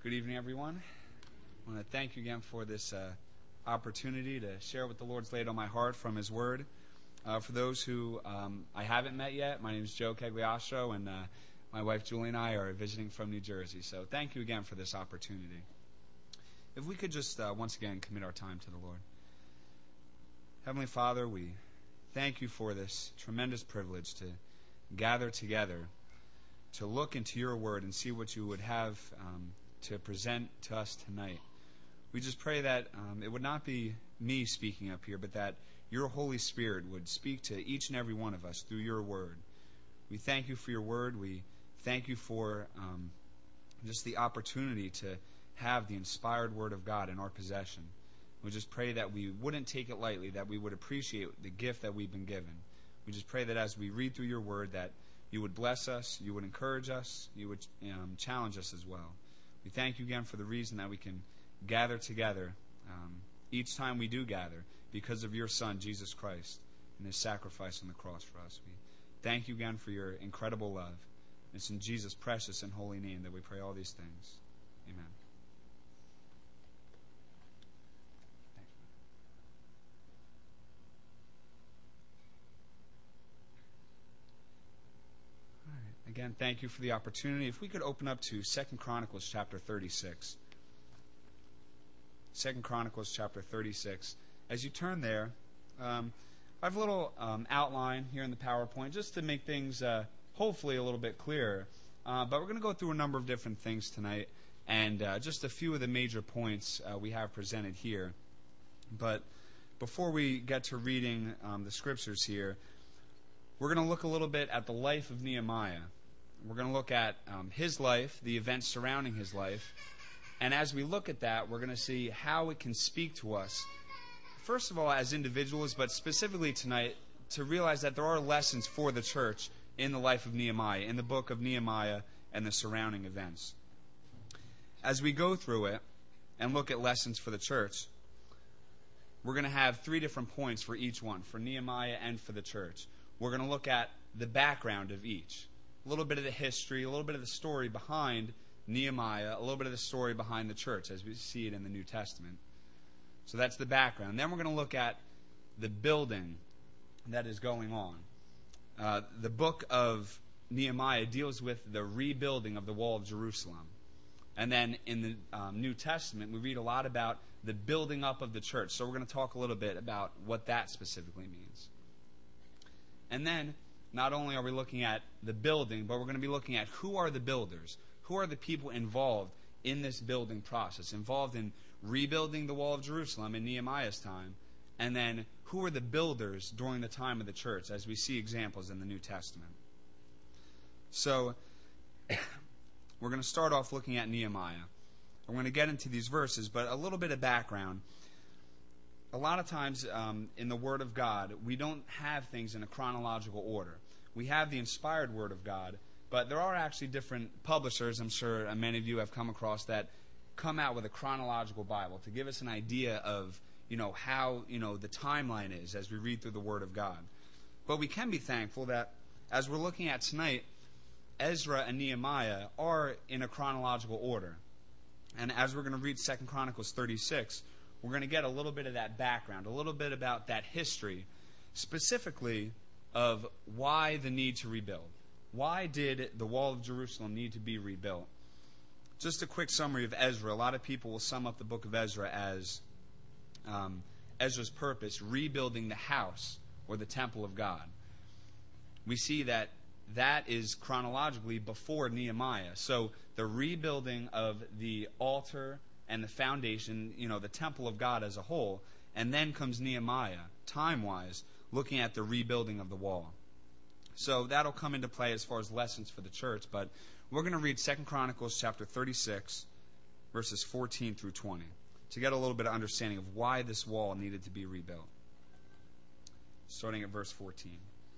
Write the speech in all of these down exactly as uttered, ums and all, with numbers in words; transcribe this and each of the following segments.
Good evening, everyone. I want to thank you again for this uh, opportunity to share what the Lord's laid on my heart from His Word. Uh, for those who um, I haven't met yet, my name is Joe Cagliostro, and uh, my wife Julie and I are visiting from New Jersey. So thank you again for this opportunity. If we could just uh, once again commit our time to the Lord. Heavenly Father, we thank you for this tremendous privilege to gather together, to look into your Word and see what you would have um, to present to us tonight. We just pray that um, it would not be me speaking up here, but that your Holy Spirit would speak to each and every one of us through your Word. We thank you for your Word. We thank you for um, just the opportunity to have the inspired Word of God in our possession. We just pray that we wouldn't take it lightly, that we would appreciate the gift that we've been given. We just pray that as we read through your Word, that you would bless us, you would encourage us, you would um, challenge us as well. We thank you again for the reason that we can gather together um, each time we do gather because of your Son, Jesus Christ, and His sacrifice on the cross for us. We thank you again for your incredible love. It's in Jesus' precious and holy name that we pray all these things. Amen. Again, thank you for the opportunity. If we could open up to Second Chronicles chapter thirty-six. Second Chronicles chapter thirty-six. As you turn there, um, I have a little um, outline here in the PowerPoint just to make things uh, hopefully a little bit clearer. Uh, but we're going to go through a number of different things tonight, and uh, just a few of the major points uh, we have presented here. But before we get to reading um, the scriptures here, we're going to look a little bit at the life of Nehemiah. We're going to look at um, his life, the events surrounding his life. And as we look at that, we're going to see how it can speak to us, first of all, as individuals, but specifically tonight, to realize that there are lessons for the church in the life of Nehemiah, in the book of Nehemiah and the surrounding events. As we go through it and look at lessons for the church, we're going to have three different points for each one, for Nehemiah and for the church. We're going to look at the background of each, a little bit of the history, a little bit of the story behind Nehemiah, a little bit of the story behind the church as we see it in the New Testament. So that's the background. Then we're going to look at the building that is going on. Uh, the book of Nehemiah deals with the rebuilding of the wall of Jerusalem. And then in the um, New Testament, we read a lot about the building up of the church. So we're going to talk a little bit about what that specifically means. And then, not only are we looking at the building, but we're going to be looking at who are the builders, who are the people involved in this building process, involved in rebuilding the wall of Jerusalem in Nehemiah's time, and then who are the builders during the time of the church, as we see examples in the New Testament. So, we're going to start off looking at Nehemiah. I'm going to get into these verses, but a little bit of background. A lot of times um, in the Word of God, we don't have things in a chronological order. We have the inspired Word of God, but there are actually different publishers, I'm sure uh, many of you have come across, that come out with a chronological Bible to give us an idea of, you know, how, you know, the timeline is as we read through the Word of God. But we can be thankful that as we're looking at tonight, Ezra and Nehemiah are in a chronological order. And as we're going to read Second Chronicles thirty-six, we're going to get a little bit of that background, a little bit about that history, specifically of why the need to rebuild. Why did the wall of Jerusalem need to be rebuilt? Just a quick summary of Ezra. A lot of people will sum up the book of Ezra as um, Ezra's purpose, rebuilding the house or the temple of God. We see that that is chronologically before Nehemiah. So the rebuilding of the altar and the foundation, you know, the temple of God as a whole, and then comes Nehemiah, time-wise, looking at the rebuilding of the wall. So that'll come into play as far as lessons for the church, but we're going to read Second Chronicles chapter thirty-six, verses fourteen through twenty, to get a little bit of understanding of why this wall needed to be rebuilt. Starting at verse fourteen.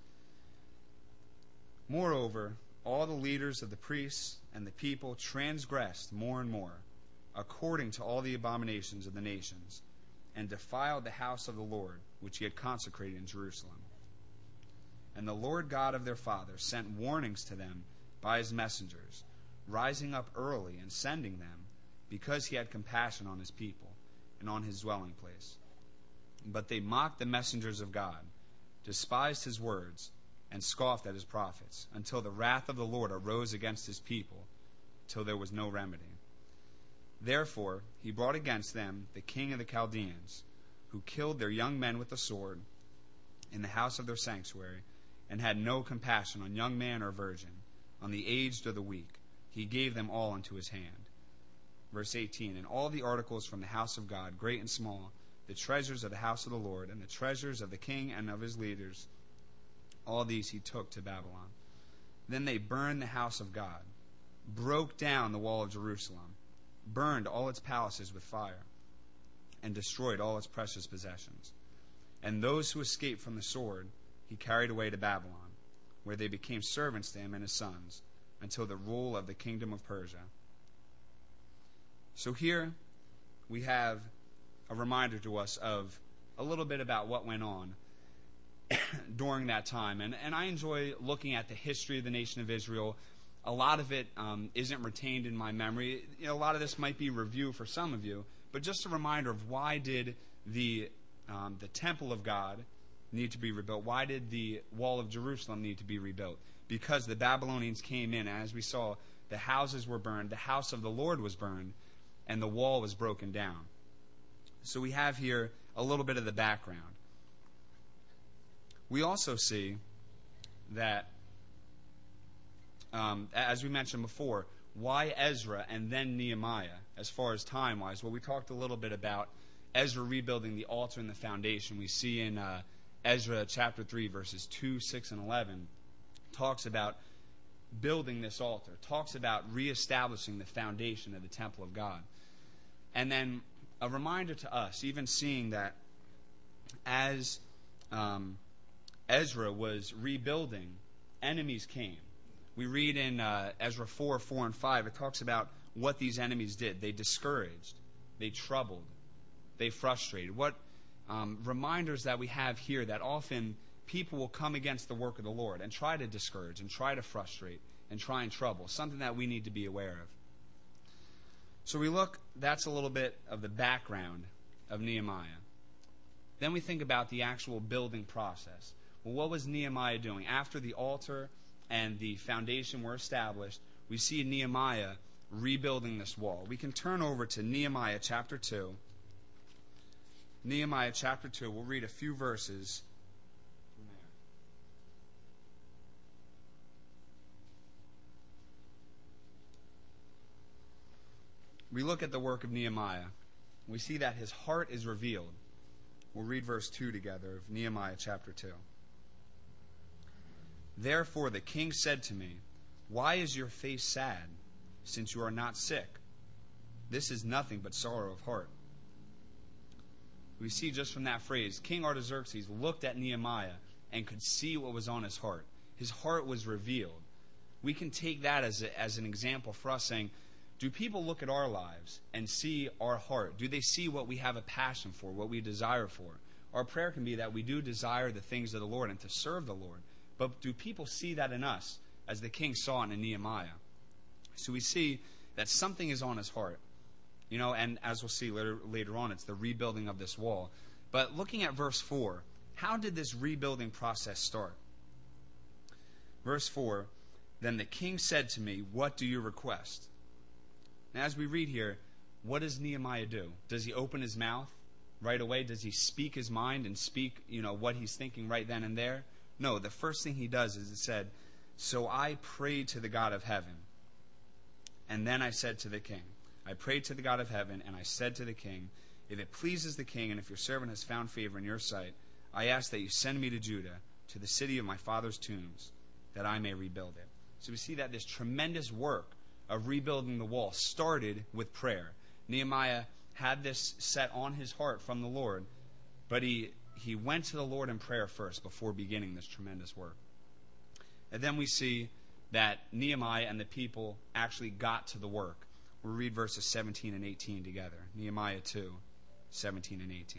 Moreover, all the leaders of the priests and the people transgressed more and more, according to all the abominations of the nations, and defiled the house of the Lord, which he had consecrated in Jerusalem. And the Lord God of their fathers sent warnings to them by his messengers, rising up early and sending them, because he had compassion on his people and on his dwelling place. But they mocked the messengers of God, despised his words, and scoffed at his prophets, until the wrath of the Lord arose against his people, till there was no remedy. Therefore he brought against them the king of the Chaldeans, who killed their young men with the sword in the house of their sanctuary, and had no compassion on young man or virgin, on the aged or the weak. He gave them all into his hand. Verse eighteen, and all the articles from the house of God, great and small, the treasures of the house of the Lord, and the treasures of the king and of his leaders, all these he took to Babylon. Then they burned the house of God, broke down the wall of Jerusalem, burned all its palaces with fire, and destroyed all its precious possessions. And those who escaped from the sword he carried away to Babylon, where they became servants to him and his sons, until the rule of the kingdom of Persia. So here we have a reminder to us of a little bit about what went on during that time. And, and I enjoy looking at the history of the nation of Israel. A lot of it um, isn't retained in my memory. You know, a lot of this might be review for some of you, but just a reminder of why did the um, the temple of God need to be rebuilt? Why did the wall of Jerusalem need to be rebuilt? Because the Babylonians came in, and as we saw, the houses were burned, the house of the Lord was burned, and the wall was broken down. So we have here a little bit of the background. We also see that, um, as we mentioned before, why Ezra and then Nehemiah, as far as time-wise? Well, we talked a little bit about Ezra rebuilding the altar and the foundation. We see in uh, Ezra chapter three, verses two, six, and eleven, talks about building this altar, talks about reestablishing the foundation of the temple of God. And then a reminder to us, even seeing that as um, Ezra was rebuilding, enemies came. We read in uh, Ezra four, four, and five, it talks about what these enemies did. They discouraged, they troubled, they frustrated. What um, reminders that we have here that often people will come against the work of the Lord and try to discourage and try to frustrate and try and trouble, something that we need to be aware of. So we look, that's a little bit of the background of Nehemiah. Then we think about the actual building process. Well, what was Nehemiah doing? After the altar and the foundation were established, we see Nehemiah rebuilding this wall. We can turn over to Nehemiah chapter two. Nehemiah chapter two, we'll read a few verses from there. We look at the work of Nehemiah. We see that his heart is revealed. We'll read verse two together of Nehemiah chapter two. Therefore the king said to me, why is your face sad, since you are not sick? This is nothing but sorrow of heart. We see just from that phrase, King Artaxerxes looked at Nehemiah and could see what was on his heart. His heart was revealed. We can take that as, a, as an example for us saying, do people look at our lives and see our heart? Do they see what we have a passion for, what we desire for? Our prayer can be that we do desire the things of the Lord and to serve the Lord. But do people see that in us as the king saw it in Nehemiah? So we see that something is on his heart. You know, and as we'll see later, later on, it's the rebuilding of this wall. But looking at verse four, how did this rebuilding process start? Verse four, then the king said to me, what do you request? Now, as we read here, what does Nehemiah do? Does he open his mouth right away? Does he speak his mind and speak, you know, what he's thinking right then and there? No, the first thing he does is it said, so I prayed to the God of heaven. And then I said to the king, I prayed to the God of heaven, and I said to the king, if it pleases the king, and if your servant has found favor in your sight, I ask that you send me to Judah, to the city of my father's tombs, that I may rebuild it. So we see that this tremendous work of rebuilding the wall started with prayer. Nehemiah had this set on his heart from the Lord, but he, he went to the Lord in prayer first before beginning this tremendous work. And then we see that Nehemiah and the people actually got to the work. We'll read verses seventeen and eighteen together. Nehemiah two, seventeen and eighteen.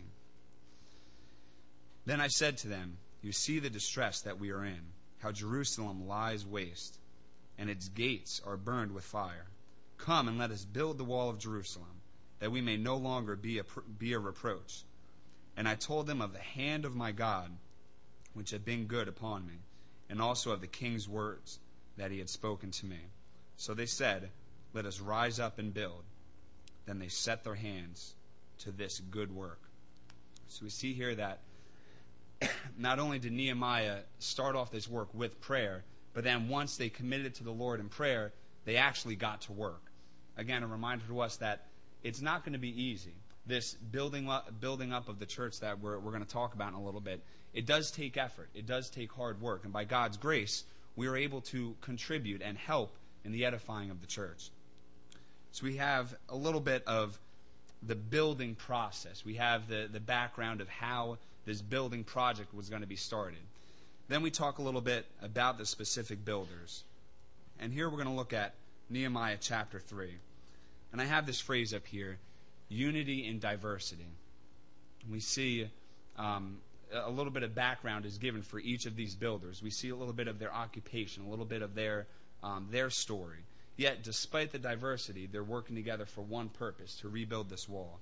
Then I said to them, you see the distress that we are in, how Jerusalem lies waste, and its gates are burned with fire. Come and let us build the wall of Jerusalem, that we may no longer be a, be a reproach. And I told them of the hand of my God, which had been good upon me, and also of the king's words that he had spoken to me. So they said, Let us rise up and build. Then they set their hands to this good work. So we see here that not only did Nehemiah start off this work with prayer, but then once they committed to the Lord in prayer, they actually got to work. Again, a reminder to us that it's not going to be easy. This building up, building up of the church that we're, we're going to talk about in a little bit, it does take effort. It does take hard work. And by God's grace, we are able to contribute and help in the edifying of the church. So we have a little bit of the building process. We have the, the background of how this building project was going to be started. Then we talk a little bit about the specific builders. And here we're going to look at Nehemiah chapter three. And I have this phrase up here, unity in diversity. We see um, a little bit of background is given for each of these builders. We see a little bit of their occupation, a little bit of their um, their story. Yet, despite the diversity, they're working together for one purpose, to rebuild this wall.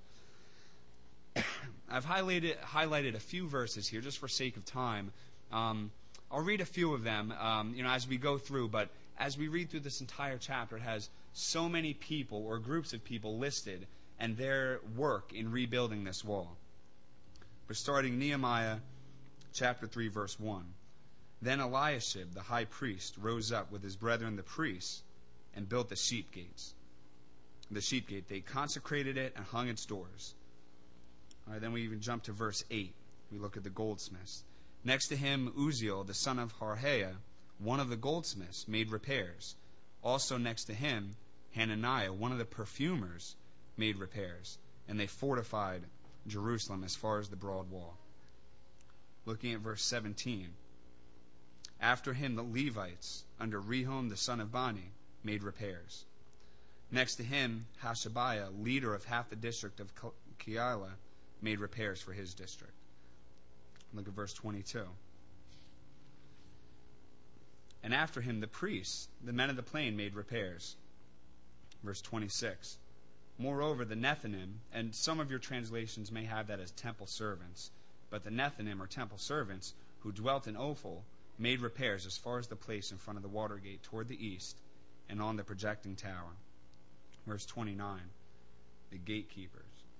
I've highlighted highlighted a few verses here just for sake of time. Um, I'll read a few of them, um, you know, as we go through. But as we read through this entire chapter, it has so many people or groups of people listed and their work in rebuilding this wall. We're starting Nehemiah chapter three, verse one. Then Eliashib, the high priest, rose up with his brethren the priests and built the sheep gates. The sheep gate, they consecrated it and hung its doors. All right, then we even jump to verse eight. We look at the goldsmiths. Next to him, Uzziel, the son of Harhaiah, one of the goldsmiths, made repairs. Also next to him, Hananiah, one of the perfumers, made repairs. And they fortified Jerusalem as far as the broad wall. Looking at verse seventeen. After him, the Levites, under Rehum, the son of Bani, made repairs. Next to him, Hashabiah, leader of half the district of Keilah, made repairs for his district. Look at verse twenty-two. And after him, the priests, the men of the plain, made repairs. Verse twenty-six. Moreover, the Nethinim, and some of your translations may have that as temple servants, but the Nethinim, or temple servants, who dwelt in Ophel, made repairs as far as the place in front of the water gate toward the east and on the projecting tower. Verse twenty-nine. The gatekeepers.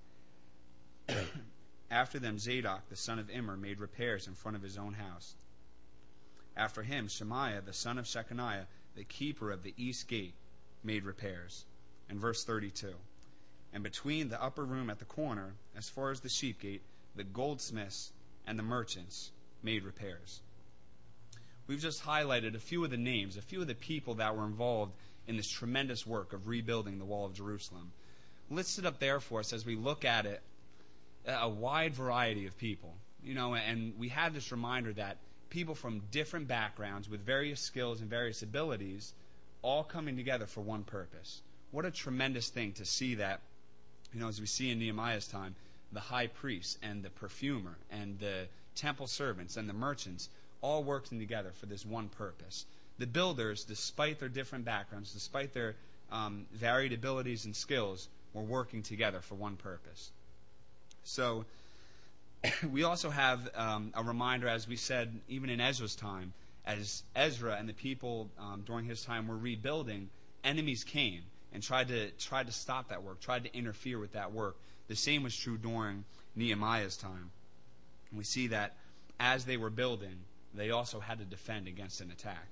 After them, Zadok, the son of Immer, made repairs in front of his own house. After him, Shemaiah, the son of Shechaniah, the keeper of the east gate, made repairs. And verse thirty-two. And between the upper room at the corner, as far as the sheep gate, the goldsmiths and the merchants made repairs. We've just highlighted a few of the names, a few of the people that were involved in this tremendous work of rebuilding the wall of Jerusalem. Listed up there for us as we look at it, a wide variety of people. You know, and we have this reminder that people from different backgrounds with various skills and various abilities all coming together for one purpose. What a tremendous thing to see that, you know, as we see in Nehemiah's time, the high priest and the perfumer and the temple servants and the merchants all working together for this one purpose. The builders, despite their different backgrounds, despite their um, varied abilities and skills, were working together for one purpose. So we also have um, a reminder, as we said, even in Ezra's time, as Ezra and the people um, during his time were rebuilding, enemies came and tried to tried to stop that work, tried to interfere with that work. The same was true during Nehemiah's time. And we see that as they were building, they also had to defend against an attack.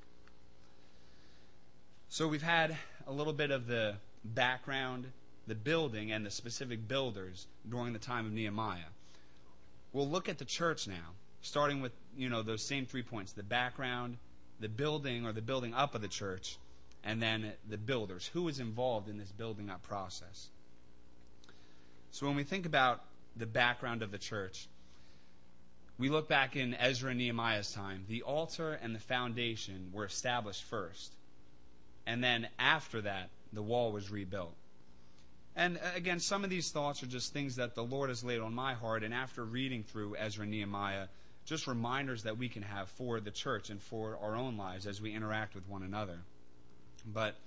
So we've had a little bit of the background, the building, and the specific builders during the time of Nehemiah. We'll look at the church now, starting with, you know, those same three points: the background, the building or the building up of the church, and then the builders. Who is involved in this building up process? So when we think about the background of the church, we look back in Ezra and Nehemiah's time. The altar and the foundation were established first. And then after that, the wall was rebuilt. And again, some of these thoughts are just things that the Lord has laid on my heart. And after reading through Ezra and Nehemiah, just reminders that we can have for the church and for our own lives as we interact with one another. But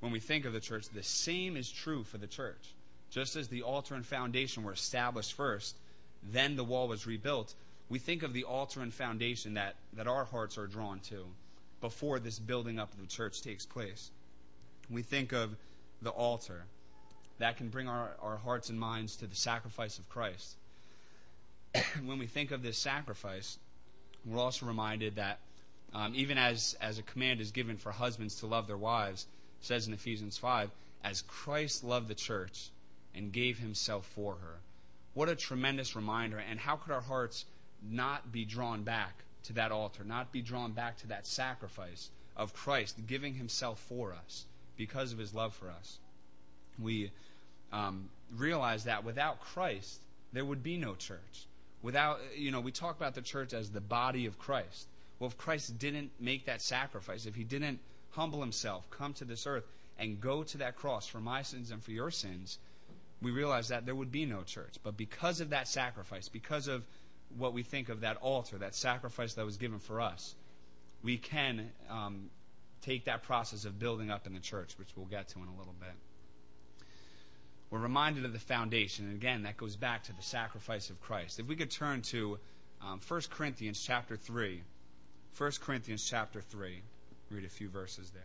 when we think of the church, the same is true for the church. Just as the altar and foundation were established first, then the wall was rebuilt, we think of the altar and foundation that, that our hearts are drawn to before this building up of the church takes place. We think of the altar. That can bring our, our hearts and minds to the sacrifice of Christ. When we think of this sacrifice, we're also reminded that um, even as, as a command is given for husbands to love their wives, it says in Ephesians five, as Christ loved the church and gave himself for her. What a tremendous reminder, and how could our hearts not be drawn back to that altar, not be drawn back to that sacrifice of Christ giving himself for us because of his love for us. We um, realize that without Christ, there would be no church. Without, you know, we talk about the church as the body of Christ. Well, if Christ didn't make that sacrifice, if he didn't humble himself, come to this earth, and go to that cross for my sins and for your sins, we realize that there would be no church. But because of that sacrifice, because of what we think of that altar, that sacrifice that was given for us, we can um, take that process of building up in the church, which we'll get to in a little bit. We're reminded of the foundation, and again, that goes back to the sacrifice of Christ. If we could turn to um, First Corinthians chapter three. First Corinthians chapter three. Read a few verses there.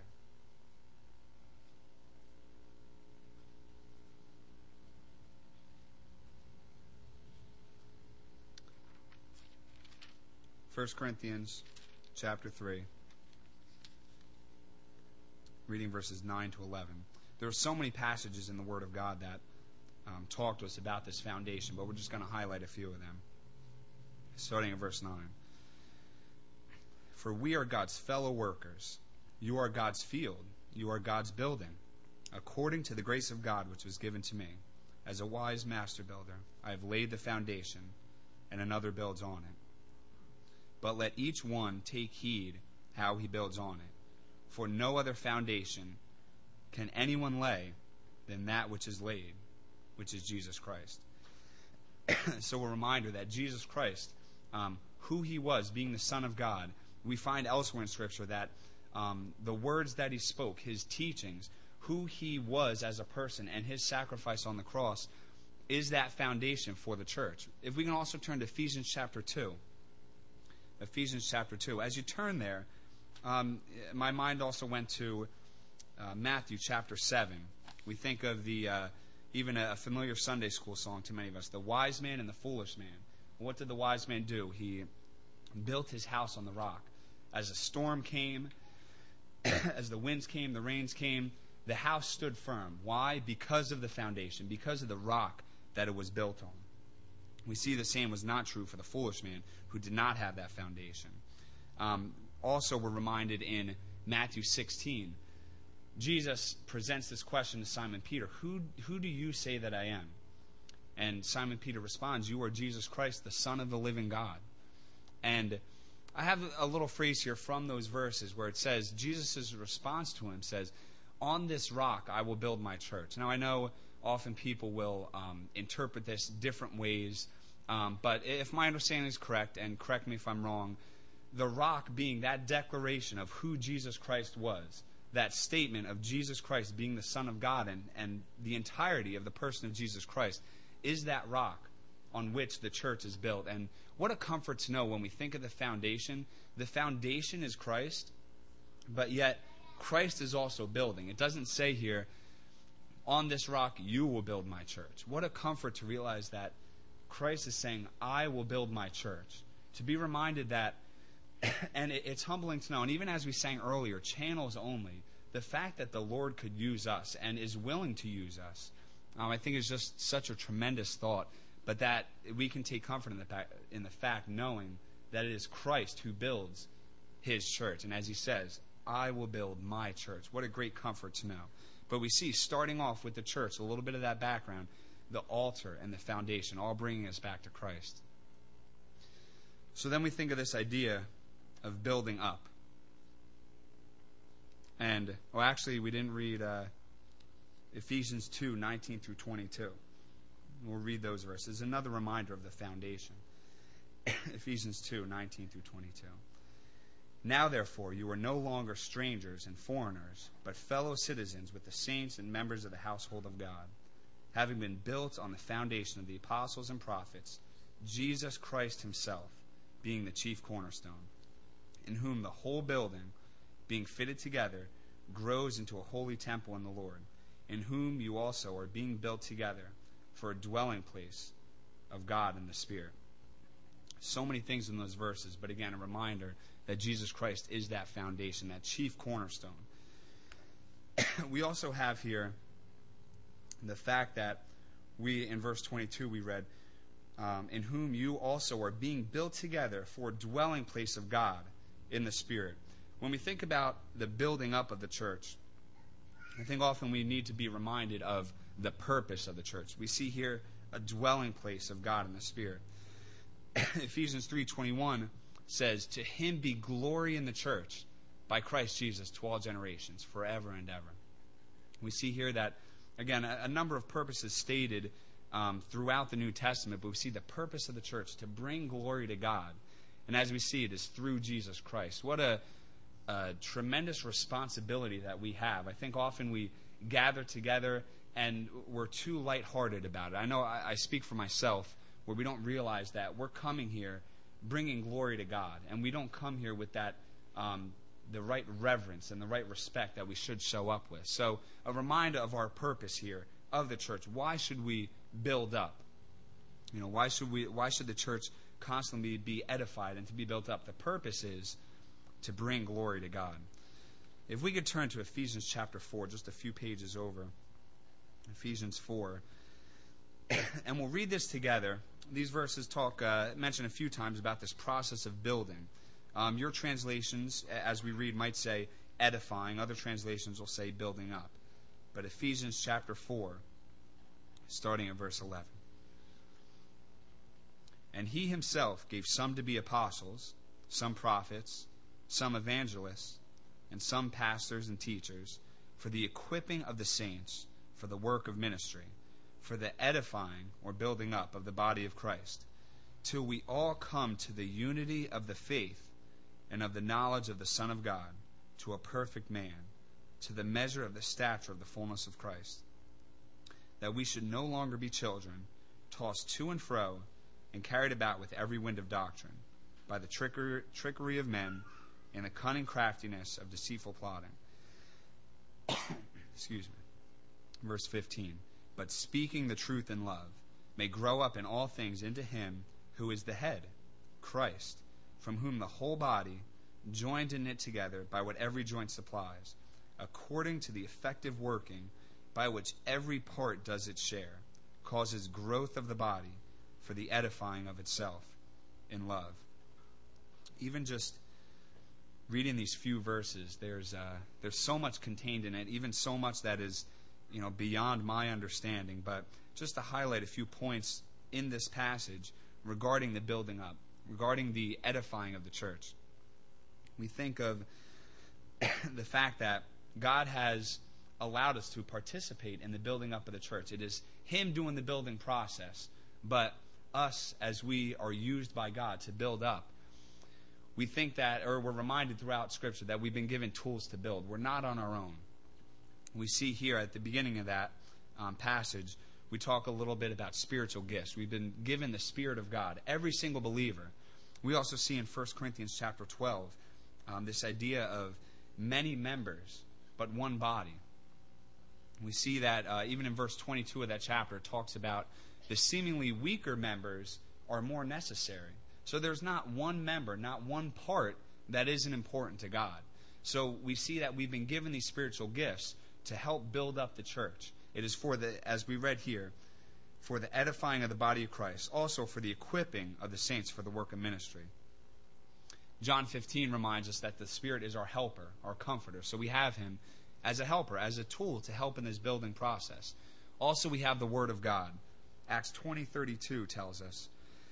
First Corinthians chapter three, reading verses nine to eleven. There are so many passages in the Word of God that um, talk to us about this foundation, but we're just going to highlight a few of them. Starting at verse nine. For we are God's fellow workers. You are God's field. You are God's building. According to the grace of God which was given to me, as a wise master builder, I have laid the foundation, and another builds on it. But let each one take heed how he builds on it. For no other foundation can anyone lay than that which is laid, which is Jesus Christ. So a reminder that Jesus Christ, um, who he was, being the Son of God, we find elsewhere in Scripture that um, the words that he spoke, his teachings, who he was as a person, and his sacrifice on the cross is that foundation for the church. If we can also turn to Ephesians chapter two. Ephesians chapter two. As you turn there, um, my mind also went to uh, Matthew chapter seven. We think of the uh, even a familiar Sunday school song to many of us, the wise man and the foolish man. What did the wise man do? He built his house on the rock. As a storm came, as the winds came, the rains came, the house stood firm. Why? Because of the foundation, because of the rock that it was built on. We see the same was not true for the foolish man who did not have that foundation. Um, also, we're reminded in Matthew sixteen, Jesus presents this question to Simon Peter, who, who do you say that I am? And Simon Peter responds, you are Jesus Christ, the Son of the living God. And I have a little phrase here from those verses where it says, Jesus' response to him says, on this rock I will build my church. Now I know often people will um, interpret this different ways, um, but if my understanding is correct, and correct me if I'm wrong, the rock being that declaration of who Jesus Christ was, that statement of Jesus Christ being the Son of God and, and the entirety of the person of Jesus Christ is that rock on which the church is built. And what a comfort to know when we think of the foundation. The foundation is Christ, but yet Christ is also building. It doesn't say here, on this rock you will build my church. What a comfort to realize that Christ is saying, I will build my church. To be reminded that, and it's humbling to know, and even as we sang earlier, channels only, the fact that the Lord could use us and is willing to use us, um, I think is just such a tremendous thought. But that we can take comfort in the, fact, in the fact knowing that it is Christ who builds his church. And as he says, I will build my church. What a great comfort to know. But we see, starting off with the church, a little bit of that background, the altar and the foundation, all bringing us back to Christ. So then we think of this idea of building up. And, well, actually, we didn't read uh, Ephesians two, nineteen through twenty-two. We'll read those verses. Another reminder of the foundation. Ephesians two, nineteen through twenty-two. Now, therefore, you are no longer strangers and foreigners, but fellow citizens with the saints and members of the household of God, having been built on the foundation of the apostles and prophets, Jesus Christ himself being the chief cornerstone, in whom the whole building, being fitted together, grows into a holy temple in the Lord, in whom you also are being built together for a dwelling place of God in the Spirit. So many things in those verses, but again, a reminder that Jesus Christ is that foundation, that chief cornerstone. We also have here the fact that we, in verse twenty-two, we read, um, in whom you also are being built together for a dwelling place of God in the Spirit. When we think about the building up of the church, I think often we need to be reminded of the purpose of the church. We see here a dwelling place of God in the Spirit. Ephesians three twenty-one says, to him be glory in the church by Christ Jesus to all generations, forever and ever. We see here that, again, a, a number of purposes stated um, throughout the New Testament, but we see the purpose of the church to bring glory to God. And as we see, it is through Jesus Christ. What a, a tremendous responsibility that we have. I think often we gather together and we're too lighthearted about it. I know I, I speak for myself, where we don't realize that we're coming here bringing glory to God, and we don't come here with that um, the right reverence and the right respect that we should show up with. So a reminder of our purpose here of the church. Why should we build up? You know, why should we? Why should the church constantly be edified and to be built up? The purpose is to bring glory to God. If we could turn to Ephesians chapter four, just a few pages over, Ephesians four, and we'll read this together. These verses talk, uh, mention a few times about this process of building. Um, your translations, as we read, might say edifying. Other translations will say building up. But Ephesians chapter four, starting at verse eleven. And he himself gave some to be apostles, some prophets, some evangelists, and some pastors and teachers, for the equipping of the saints, for the work of ministry, for the edifying or building up of the body of Christ, till we all come to the unity of the faith and of the knowledge of the Son of God, to a perfect man, to the measure of the stature of the fullness of Christ, that we should no longer be children, tossed to and fro, and carried about with every wind of doctrine, by the trickery, trickery of men, and the cunning craftiness of deceitful plotting. Excuse me. Verse fifteen. But speaking the truth in love, may grow up in all things into him who is the head, Christ, from whom the whole body, joined and knit together by what every joint supplies, according to the effective working by which every part does its share, causes growth of the body for the edifying of itself in love. Even just reading these few verses, there's uh, there's so much contained in it, even so much that is, you know, beyond my understanding. But just to highlight a few points in this passage regarding the building up, regarding the edifying of the church. We think of the fact that God has allowed us to participate in the building up of the church. It is him doing the building process, but us, as we are used by God to build up, we think that, or we're reminded throughout Scripture that we've been given tools to build. We're not on our own. We see here at the beginning of that um, passage, we talk a little bit about spiritual gifts. We've been given the Spirit of God, every single believer. We also see in First Corinthians chapter twelve um, this idea of many members, but one body. We see that uh, even in verse twenty-two of that chapter, it talks about the seemingly weaker members are more necessary. So there's not one member, not one part that isn't important to God. So we see that we've been given these spiritual gifts to help build up the church. It is for the, as we read here, for the edifying of the body of Christ, also for the equipping of the saints for the work of ministry. John fifteen reminds us that the Spirit is our helper, our comforter. So we have him as a helper, as a tool to help in this building process. Also, we have the Word of God. Acts twenty thirty-two tells us,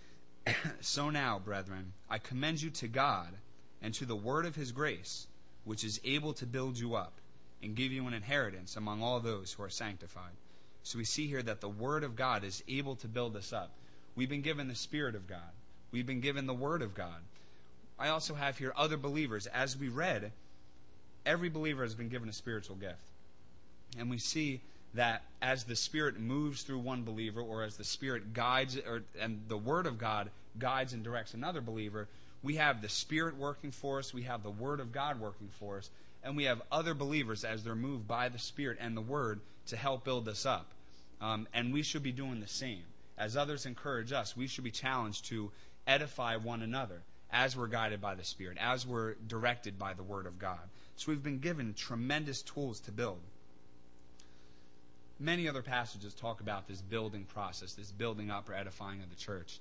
So now, brethren, I commend you to God and to the word of his grace, which is able to build you up and give you an inheritance among all those who are sanctified. So we see here that the Word of God is able to build us up. We've been given the Spirit of God. We've been given the Word of God. I also have here other believers. As we read, every believer has been given a spiritual gift. And we see that as the Spirit moves through one believer, or as the Spirit guides, or and the Word of God guides and directs another believer, we have the Spirit working for us, we have the Word of God working for us, and we have other believers as they're moved by the Spirit and the Word to help build us up. Um, and we should be doing the same. As others encourage us, we should be challenged to edify one another as we're guided by the Spirit, as we're directed by the Word of God. So we've been given tremendous tools to build. Many other passages talk about this building process, this building up or edifying of the church.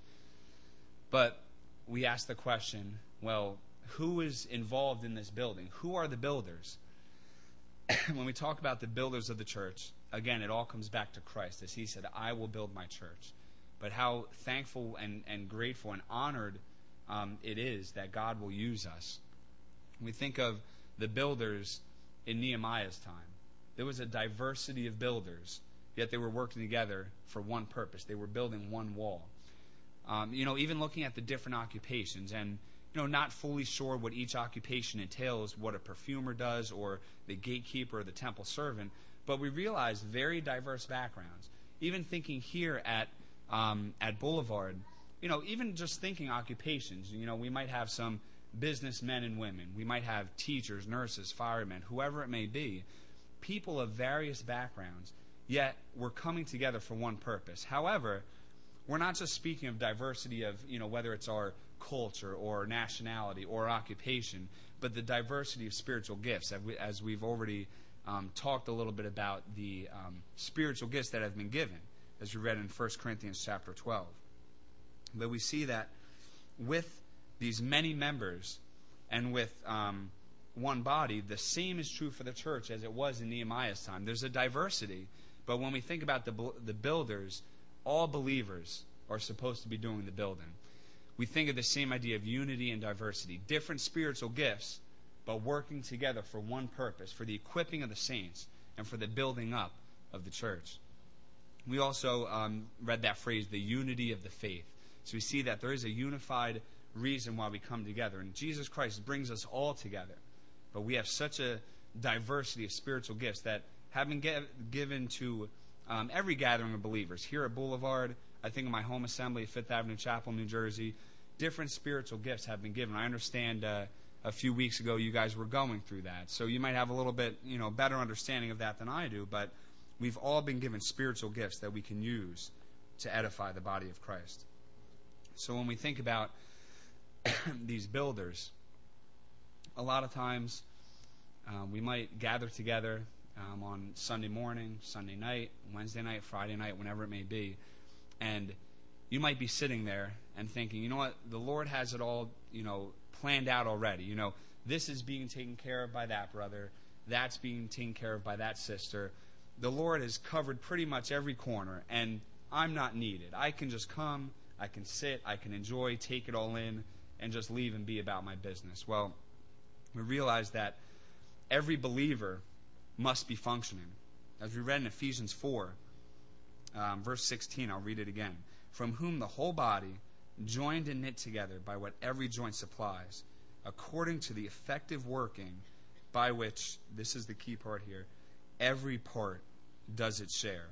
But we ask the question, well, who is involved in this building? Who are the builders? When we talk about the builders of the church, again, it all comes back to Christ, as he said, I will build my church. But how thankful and, and grateful and honored um, it is that God will use us. We think of the builders in Nehemiah's time. There was a diversity of builders, yet they were working together for one purpose. They were building one wall. Um, you know, even looking at the different occupations and, you know, not fully sure what each occupation entails, what a perfumer does or the gatekeeper or the temple servant, but we realize very diverse backgrounds. Even thinking here at um, at Boulevard, you know, even just thinking occupations, you know, we might have some businessmen and women. We might have teachers, nurses, firemen, whoever it may be, people of various backgrounds, yet we're coming together for one purpose. However, we're not just speaking of diversity of, you know, whether it's our culture or nationality or occupation, but the diversity of spiritual gifts, as, we, as we've already um, talked a little bit about the um, spiritual gifts that have been given, as we read in First Corinthians chapter twelve. But we see that with these many members and with um, one body, the same is true for the church as it was in Nehemiah's time. There's a diversity, but when we think about the the builders, all believers are supposed to be doing the building. We think of the same idea of unity and diversity, different spiritual gifts, but working together for one purpose, for the equipping of the saints and for the building up of the church. We also um, read that phrase, the unity of the faith. So we see that there is a unified reason why we come together, and Jesus Christ brings us all together. But we have such a diversity of spiritual gifts that have been get, given to um, every gathering of believers. Here at Boulevard, I think in my home assembly at Fifth Avenue Chapel, New Jersey, different spiritual gifts have been given. I understand uh, a few weeks ago you guys were going through that. So you might have a little bit, you know, better understanding of that than I do, but we've all been given spiritual gifts that we can use to edify the body of Christ. So when we think about these builders, a lot of times um, we might gather together um, on Sunday morning, Sunday night, Wednesday night, Friday night, whenever it may be, and you might be sitting there and thinking, you know what, the Lord has it all, you know, planned out already. You know, this is being taken care of by that brother, that's being taken care of by that sister. The Lord has covered pretty much every corner, and I'm not needed. I can just come, I can sit, I can enjoy, take it all in, and just leave and be about my business. Well, we realize that every believer must be functioning. As we read in Ephesians four, um, verse sixteen, I'll read it again. From whom the whole body, joined and knit together by what every joint supplies, according to the effective working by which, this is the key part here, every part does its share,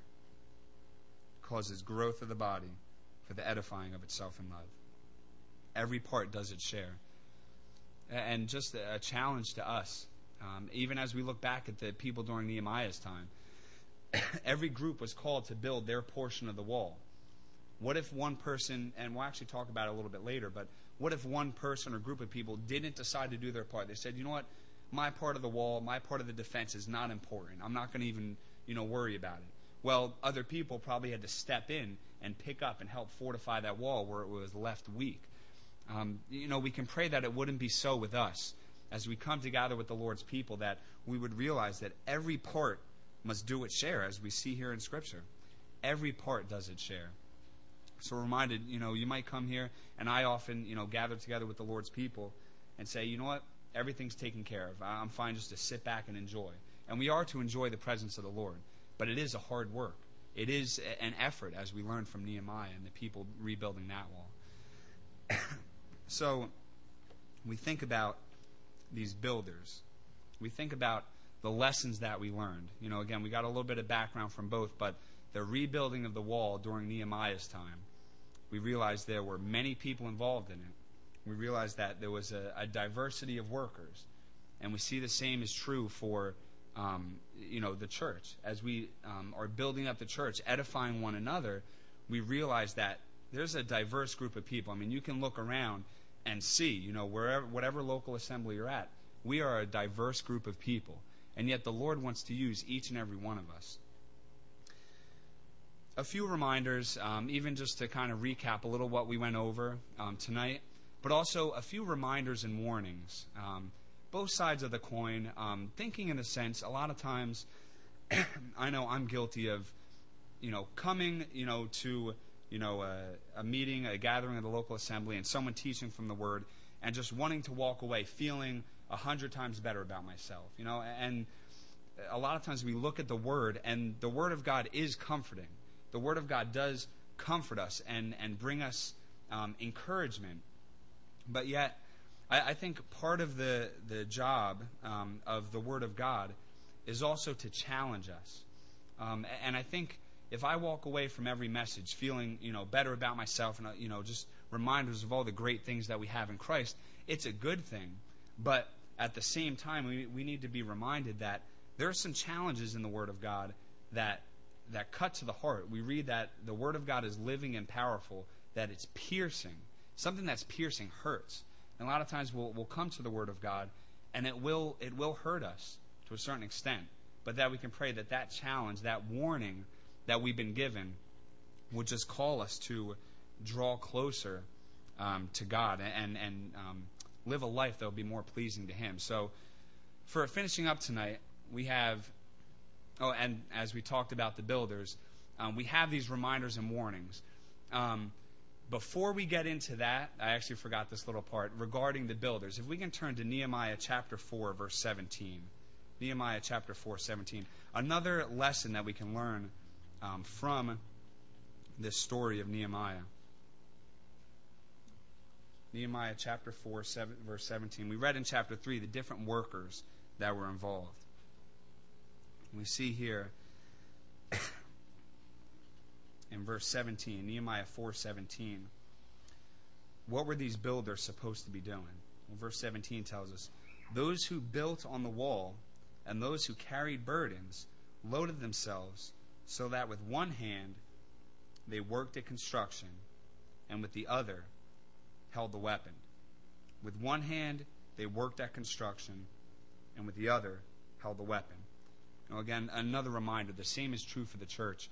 causes growth of the body for the edifying of itself in love. Every part does its share. And just a challenge to us, um, even as we look back at the people during Nehemiah's time, every group was called to build their portion of the wall. What if one person, and we'll actually talk about it a little bit later, but what if one person or group of people didn't decide to do their part? They said, you know what, my part of the wall, my part of the defense is not important. I'm not going to even, you know, worry about it. Well, other people probably had to step in and pick up and help fortify that wall where it was left weak. Um, you know, we can pray that it wouldn't be so with us as we come together with the Lord's people, that we would realize that every part must do its share, as we see here in Scripture. Every part does its share. So we're reminded, you know, you might come here, and I often, you know, gather together with the Lord's people and say, you know what, everything's taken care of. I'm fine just to sit back and enjoy. And we are to enjoy the presence of the Lord, but it is a hard work. It is an effort, as we learned from Nehemiah and the people rebuilding that wall. So we think about these builders. We think about the lessons that we learned. You know, again, we got a little bit of background from both, but the rebuilding of the wall during Nehemiah's time, we realized there were many people involved in it. We realized that there was a, a diversity of workers. And we see the same is true for, um, you know, the church. As we um, are building up the church, edifying one another, we realize that there's a diverse group of people. I mean, you can look around and see, you know, wherever, whatever local assembly you're at, we are a diverse group of people. And yet the Lord wants to use each and every one of us. A few reminders, um, even just to kind of recap a little what we went over um, tonight, but also a few reminders and warnings. Um, both sides of the coin, um, thinking in a sense, a lot of times, I know I'm guilty of, you know, coming, you know, to, you know, a, a meeting, a gathering of the local assembly, and someone teaching from the Word, and just wanting to walk away feeling a hundred times better about myself, you know. And a lot of times we look at the Word, and the Word of God is comforting. The Word of God does comfort us and, and bring us um, encouragement. But yet, I, I think part of the, the job um, of the Word of God is also to challenge us. Um, and I think if I walk away from every message feeling, you know, better about myself and, you know, just reminders of all the great things that we have in Christ, it's a good thing. But at the same time, we, we need to be reminded that there are some challenges in the Word of God that that cut to the heart. We read that the Word of God is living and powerful, that it's piercing. Something that's piercing hurts. And a lot of times we'll, we'll come to the Word of God, and it will it will hurt us to a certain extent. But that we can pray that that challenge, that warning that we've been given, will just call us to draw closer um, to God and, and um, live a life that will be more pleasing to Him. So for finishing up tonight, we have... Oh, and as we talked about the builders, um, we have these reminders and warnings. Um, before we get into that, I actually forgot this little part regarding the builders. If we can turn to Nehemiah chapter four, verse seventeen. Nehemiah chapter four, seventeen. Another lesson that we can learn um, from this story of Nehemiah. Nehemiah chapter four, seven, verse seventeen. We read in chapter three the different workers that were involved. We see here in verse seventeen, Nehemiah four seventeen, what were these builders supposed to be doing? Well, verse seventeen tells us, those who built on the wall and those who carried burdens loaded themselves so that with one hand they worked at construction and with the other held the weapon. With one hand they worked at construction and with the other held the weapon. Now, again, another reminder, the same is true for the church.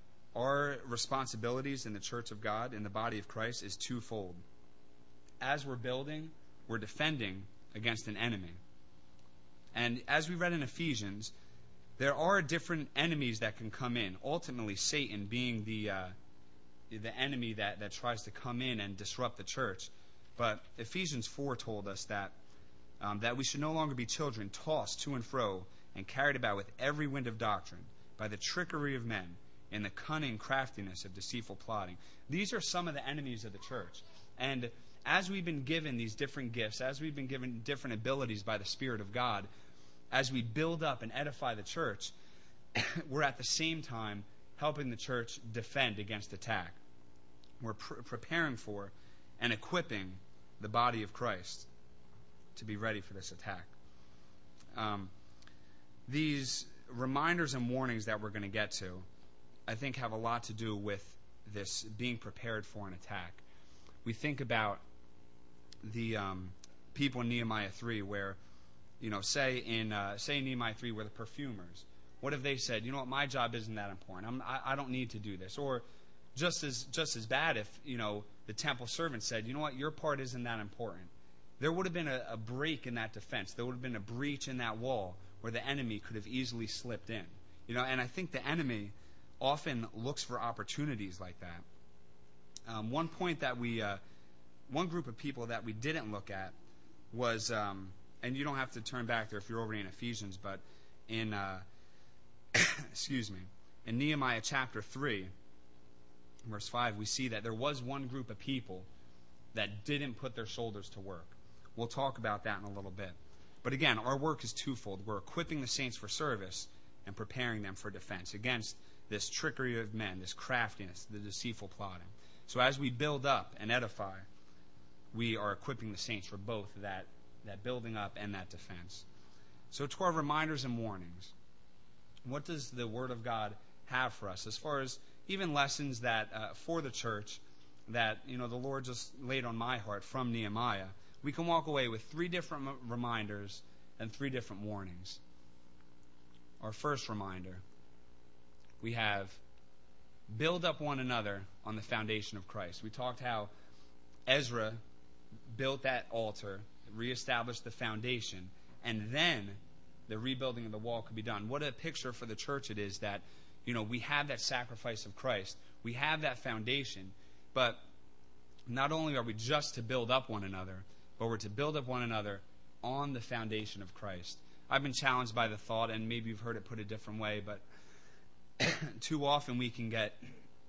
Our responsibilities in the church of God, in the body of Christ, is twofold. As we're building, we're defending against an enemy. And as we read in Ephesians, there are different enemies that can come in. Ultimately, Satan being the uh, the enemy that, that tries to come in and disrupt the church. But Ephesians four told us that um, that we should no longer be children tossed to and fro and carried about with every wind of doctrine, by the trickery of men, and the cunning craftiness of deceitful plotting. These are some of the enemies of the church. And as we've been given these different gifts, as we've been given different abilities by the Spirit of God, as we build up and edify the church, we're at the same time helping the church defend against attack. We're pr- preparing for and equipping the body of Christ to be ready for this attack. Um, These reminders and warnings that we're going to get to, I think, have a lot to do with this being prepared for an attack. We think about the um, people in Nehemiah three where, you know, say in uh, say in Nehemiah three where the perfumers, what if they said, you know what, my job isn't that important. I'm, I, I don't need to do this. Or just as just as bad if, you know, the temple servant said, you know what, your part isn't that important. There would have been a, a break in that defense. There would have been a breach in that wall where the enemy could have easily slipped in. You know, and I think the enemy often looks for opportunities like that. Um, one point that we, uh, one group of people that we didn't look at was, um, and you don't have to turn back there if you're already in Ephesians, but in, uh, excuse me, in Nehemiah chapter three, verse five, we see that there was one group of people that didn't put their shoulders to work. We'll talk about that in a little bit. But again, our work is twofold. We're equipping the saints for service and preparing them for defense against this trickery of men, this craftiness, the deceitful plotting. So as we build up and edify, we are equipping the saints for both that, that building up and that defense. So to our reminders and warnings, what does the Word of God have for us as far as even lessons that uh, for the church that, you know, the Lord just laid on my heart from Nehemiah? We can walk away with three different reminders and three different warnings. Our first reminder, we have build up one another on the foundation of Christ. We talked how Ezra built that altar, reestablished the foundation, and then the rebuilding of the wall could be done. What a picture for the church it is that, you know, we have that sacrifice of Christ. We have that foundation, but not only are we just to build up one another, but we're to build up one another on the foundation of Christ. I've been challenged by the thought, and maybe you've heard it put a different way, but too often we can get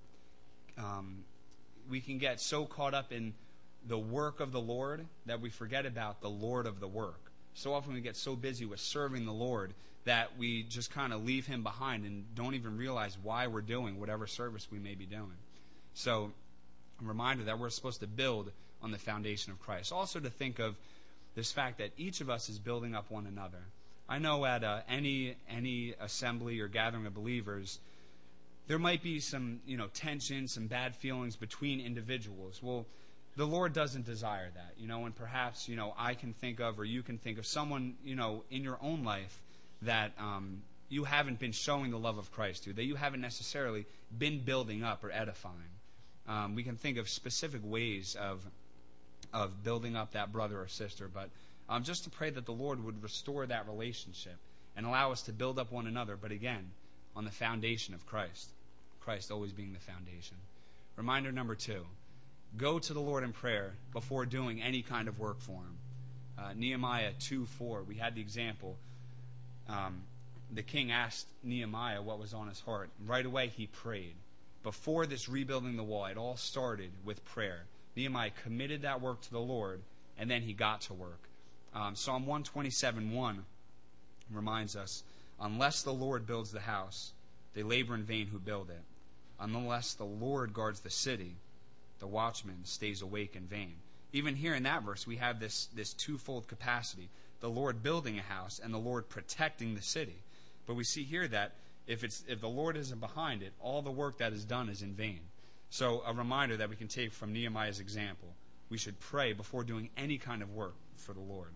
um, we can get so caught up in the work of the Lord that we forget about the Lord of the work. So often we get so busy with serving the Lord that we just kind of leave Him behind and don't even realize why we're doing whatever service we may be doing. So a reminder that we're supposed to build on the foundation of Christ. Also to think of this fact that each of us is building up one another. I know at uh, any any assembly or gathering of believers, there might be some, you know, tension, some bad feelings between individuals. Well, the Lord doesn't desire that, you know, and perhaps, you know, I can think of, or you can think of someone, you know, in your own life that um, you haven't been showing the love of Christ to, that you haven't necessarily been building up or edifying. Um, we can think of specific ways of of building up that brother or sister, but um, just to pray that the Lord would restore that relationship and allow us to build up one another, but again, on the foundation of Christ. Christ always being the foundation. Reminder number two, go to the Lord in prayer before doing any kind of work for Him. Uh, Nehemiah two four, we had the example. Um, the king asked Nehemiah what was on his heart. Right away he prayed. Before this rebuilding the wall, it all started with prayer. Nehemiah committed that work to the Lord, and then he got to work. Um, Psalm one twenty-seven one reminds us, unless the Lord builds the house, they labor in vain who build it. Unless the Lord guards the city, the watchman stays awake in vain. Even here in that verse, we have this, this twofold capacity. The Lord building a house and the Lord protecting the city. But we see here that if it's if the Lord isn't behind it, all the work that is done is in vain. So a reminder that we can take from Nehemiah's example. We should pray before doing any kind of work for the Lord.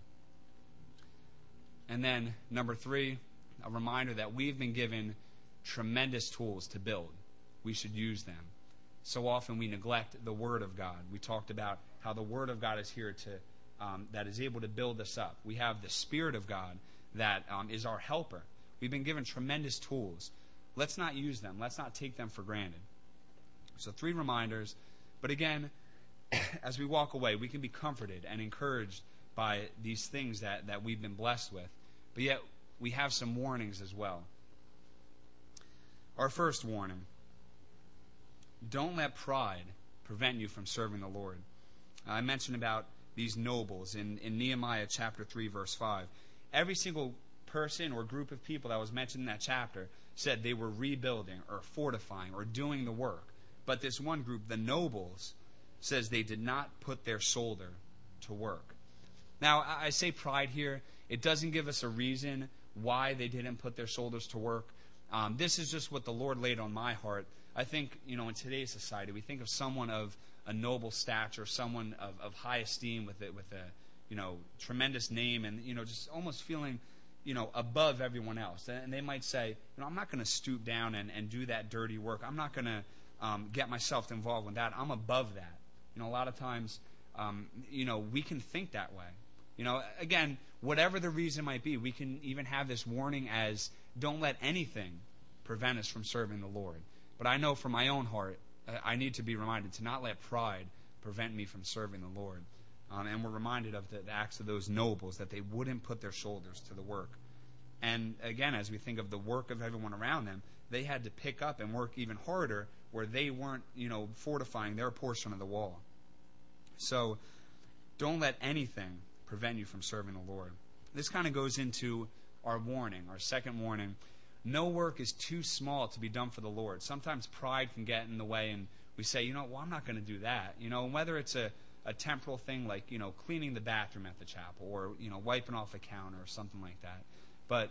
And then, number three, a reminder that we've been given tremendous tools to build. We should use them. So often we neglect the Word of God. We talked about how the Word of God is here to, um, that is able to build us up. We have the Spirit of God that um, is our helper. We've been given tremendous tools. Let's not use them. Let's not take them for granted. So three reminders. But again, as we walk away, we can be comforted and encouraged by these things that, that we've been blessed with. But yet, we have some warnings as well. Our first warning, don't let pride prevent you from serving the Lord. I mentioned about these nobles in, in Nehemiah chapter three, verse five. Every single person or group of people that was mentioned in that chapter said they were rebuilding or fortifying or doing the work. But this one group, the nobles, says they did not put their shoulder to work. Now, I say pride here. It doesn't give us a reason why they didn't put their shoulders to work. Um, this is just what the Lord laid on my heart. I think, you know, in today's society, we think of someone of a noble stature, someone of, of high esteem with it, with a, you know, tremendous name, and, you know, just almost feeling, you know, above everyone else. And they might say, you know, I'm not going to stoop down and, and do that dirty work. I'm not going to um, get myself involved with that. I'm above that. You know, a lot of times, um, you know, we can think that way. You know, again, whatever the reason might be, we can even have this warning as don't let anything prevent us from serving the Lord. But I know for my own heart, I need to be reminded to not let pride prevent me from serving the Lord. Um, and we're reminded of the, the acts of those nobles, that they wouldn't put their shoulders to the work. And again, as we think of the work of everyone around them, they had to pick up and work even harder where they weren't, you know, fortifying their portion of the wall. So don't let anything prevent you from serving the Lord. This kind of goes into our warning, our second warning. No work is too small to be done for the Lord. Sometimes pride can get in the way, and we say, you know, well, I'm not going to do that. You know, and whether it's a, a temporal thing like, you know, cleaning the bathroom at the chapel or, you know, wiping off a counter or something like that. But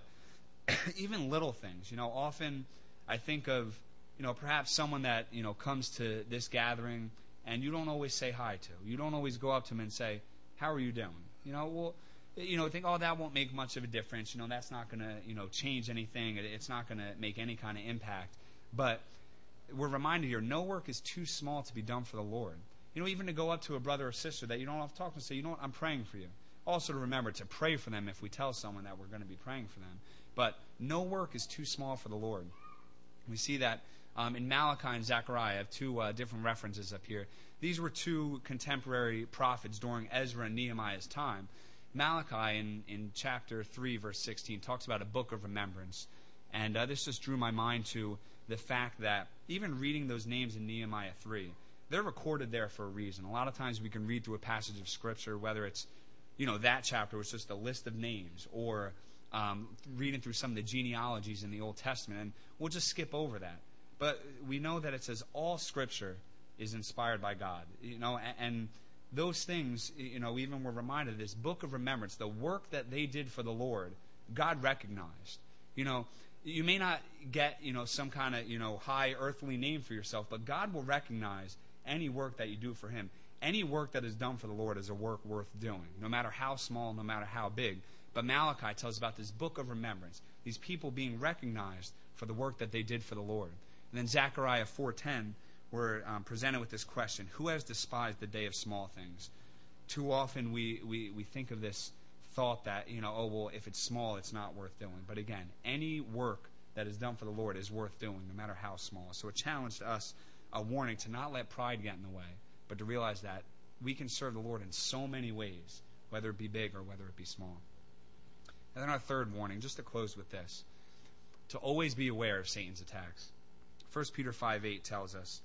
even little things, you know, often I think of, you know, perhaps someone that, you know, comes to this gathering and you don't always say hi to. You don't always go up to them and say, how are you doing? You know, well, you know, think, oh, that won't make much of a difference. You know, that's not going to, you know, change anything. It's not going to make any kind of impact. But we're reminded here, no work is too small to be done for the Lord. You know, even to go up to a brother or sister that you don't have to talk to and say, you know what, I'm praying for you. Also to remember to pray for them if we tell someone that we're going to be praying for them. But no work is too small for the Lord. We see that um, in Malachi and Zechariah. I have two uh, different references up here. These were two contemporary prophets during Ezra and Nehemiah's time. Malachi in, in chapter three, verse sixteen, talks about a book of remembrance. And uh, this just drew my mind to the fact that even reading those names in Nehemiah three, they're recorded there for a reason. A lot of times we can read through a passage of Scripture, whether it's, you know, that chapter was just a list of names, or um, reading through some of the genealogies in the Old Testament, and we'll just skip over that. But we know that it says all Scripture is inspired by God. You know, and, and those things, you know, even we're reminded of this book of remembrance, the work that they did for the Lord, God recognized. You know, you may not get, you know, some kind of, you know, high earthly name for yourself, but God will recognize any work that you do for Him. Any work that is done for the Lord is a work worth doing, no matter how small, no matter how big. But Malachi tells about this book of remembrance, these people being recognized for the work that they did for the Lord. And then Zechariah four ten, we're um, presented with this question: who has despised the day of small things? Too often we, we, we think of this thought that, you know, oh, well, if it's small, it's not worth doing. But again, any work that is done for the Lord is worth doing, no matter how small. So a challenge to us, a warning to not let pride get in the way, but to realize that we can serve the Lord in so many ways, whether it be big or whether it be small. And then our third warning, just to close with this, to always be aware of Satan's attacks. First Peter five eight tells us,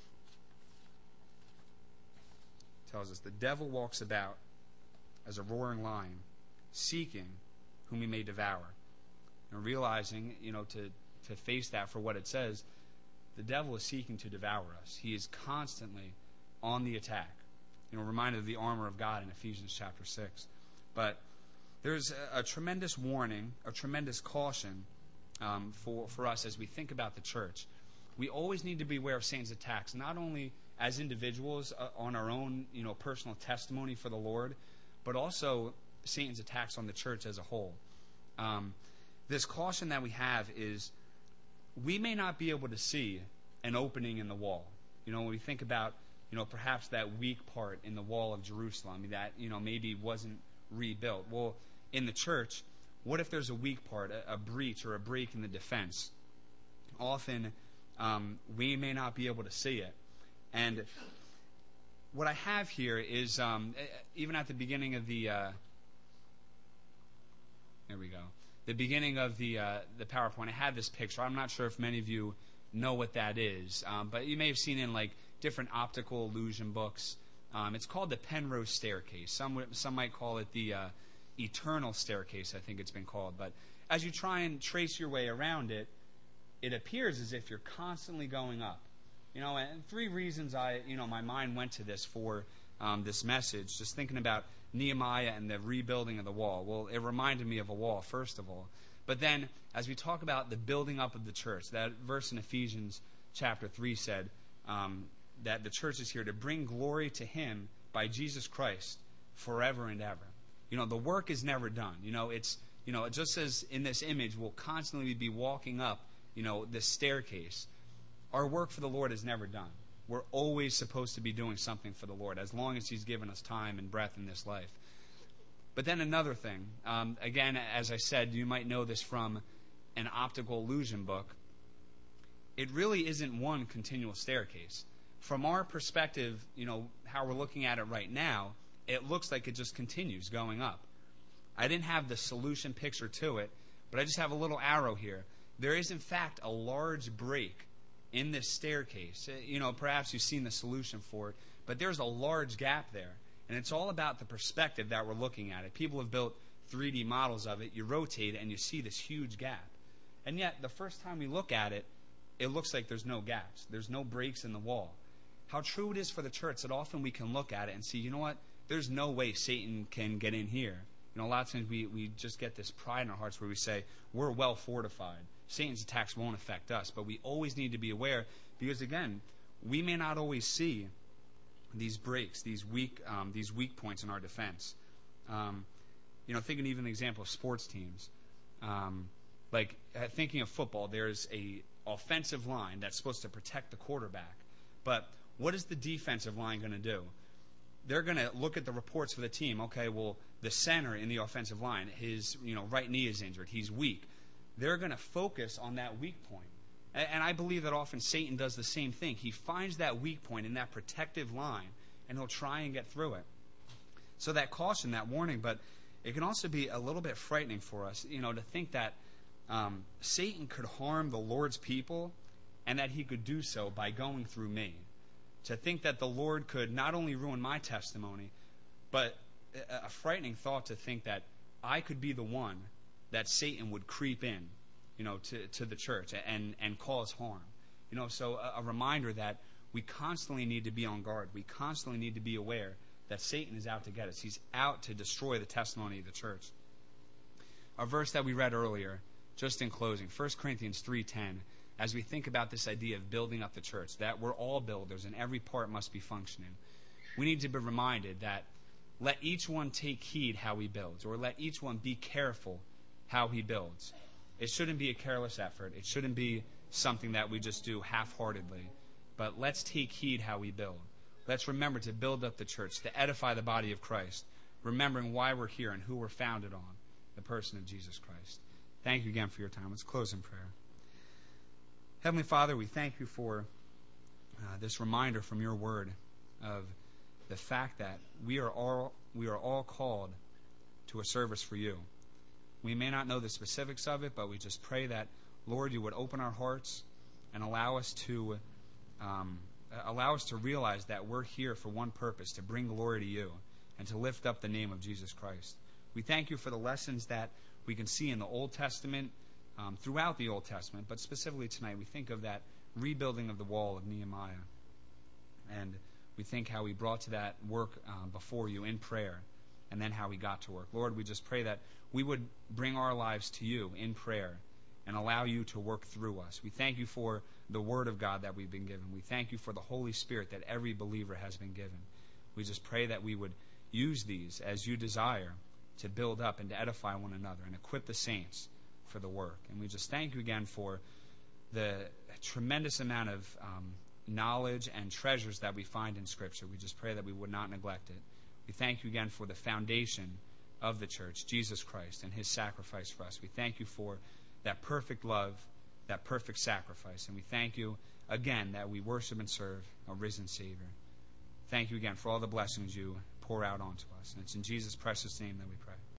tells us, the devil walks about as a roaring lion, seeking whom he may devour. And realizing, you know, to, to face that for what it says, the devil is seeking to devour us. He is constantly on the attack. You know, reminded of the armor of God in Ephesians chapter six. But there's a, a tremendous warning, a tremendous caution um, for, for us as we think about the church. We always need to be aware of Satan's attacks, not only as individuals uh, on our own, you know, personal testimony for the Lord, but also Satan's attacks on the church as a whole. Um, this caution that we have is we may not be able to see an opening in the wall. You know, when we think about, you know, perhaps that weak part in the wall of Jerusalem that, you know, maybe wasn't rebuilt. Well, in the church, what if there's a weak part, a, a breach or a break in the defense? Often um, we may not be able to see it. And what I have here is, um, even at the beginning of the, uh, there we go, the beginning of the uh, the PowerPoint, I had this picture. I'm not sure if many of you know what that is, um, but you may have seen it in like different optical illusion books. Um, it's called the Penrose Staircase. Some some might call it the uh, Eternal Staircase, I think it's been called. But as you try and trace your way around it, it appears as if you're constantly going up. You know, and three reasons I, you know, my mind went to this for um, this message, just thinking about Nehemiah and the rebuilding of the wall. Well, it reminded me of a wall, first of all. But then, as we talk about the building up of the church, that verse in Ephesians chapter three said um, that the church is here to bring glory to Him by Jesus Christ forever and ever. You know, the work is never done. You know, it's, you know, just as in this image, we'll constantly be walking up, you know, this staircase. Our work for the Lord is never done. We're always supposed to be doing something for the Lord, as long as He's given us time and breath in this life. But then another thing, um, again, as I said, you might know this from an optical illusion book. It really isn't one continual staircase. From our perspective, you know, how we're looking at it right now, it looks like it just continues going up. I didn't have the solution picture to it, but I just have a little arrow here. There is, in fact, a large break in this staircase. You know, perhaps you've seen the solution for it, but there's a large gap there. And it's all about the perspective that we're looking at it. People have built three D models of it. You rotate it, and you see this huge gap. And yet, the first time we look at it, it looks like there's no gaps. There's no breaks in the wall. How true it is for the church that often we can look at it and see, you know what? There's no way Satan can get in here. You know, a lot of times we, we just get this pride in our hearts where we say, we're well fortified. Satan's attacks won't affect us. But we always need to be aware because, again, we may not always see these breaks, these weak, um, these weak points in our defense. Um, you know, thinking even the example of sports teams. Um, like uh, thinking of football, there's a offensive line that's supposed to protect the quarterback. But what is the defensive line going to do? They're going to look at the reports for the team. Okay, well, the center in the offensive line, his you know right knee is injured. He's weak. They're going to focus on that weak point. And, and I believe that often Satan does the same thing. He finds that weak point in that protective line, and he'll try and get through it. So that caution, that warning, but it can also be a little bit frightening for us, you know, to think that um, Satan could harm the Lord's people and that he could do so by going through me. To think that the Lord could not only ruin my testimony, but a frightening thought to think that I could be the one that Satan would creep in, you know, to, to the church and, and cause harm. You know, so a, a reminder that we constantly need to be on guard. We constantly need to be aware that Satan is out to get us. He's out to destroy the testimony of the church. Our verse that we read earlier, just in closing, First Corinthians three ten, as we think about this idea of building up the church, that we're all builders and every part must be functioning, we need to be reminded that let each one take heed how he builds, or let each one be careful how he builds. It shouldn't be a careless effort. It shouldn't be something that we just do half-heartedly. But let's take heed how we build. Let's remember to build up the church, to edify the body of Christ, remembering why we're here and who we're founded on, the person of Jesus Christ. Thank you again for your time. Let's close in prayer. Heavenly Father, we thank you for uh, this reminder from your word of the fact that we are all we are all called to a service for you. We may not know the specifics of it, but we just pray that, Lord, you would open our hearts and allow us to um, allow us to realize that we're here for one purpose, to bring glory to you and to lift up the name of Jesus Christ. We thank you for the lessons that we can see in the Old Testament, um, throughout the Old Testament, but specifically tonight we think of that rebuilding of the wall of Nehemiah. And we think how he brought to that work um, before you in prayer, and then how he got to work. Lord, we just pray that we would bring our lives to you in prayer and allow you to work through us. We thank you for the Word of God that we've been given. We thank you for the Holy Spirit that every believer has been given. We just pray that we would use these as you desire to build up and to edify one another and equip the saints for the work. And we just thank you again for the tremendous amount of um, knowledge and treasures that we find in Scripture. We just pray that we would not neglect it. We thank you again for the foundation of the church, Jesus Christ, and his sacrifice for us. We thank you for that perfect love, that perfect sacrifice. And we thank you again that we worship and serve a risen Savior. Thank you again for all the blessings you pour out onto us. And it's in Jesus' precious name that we pray.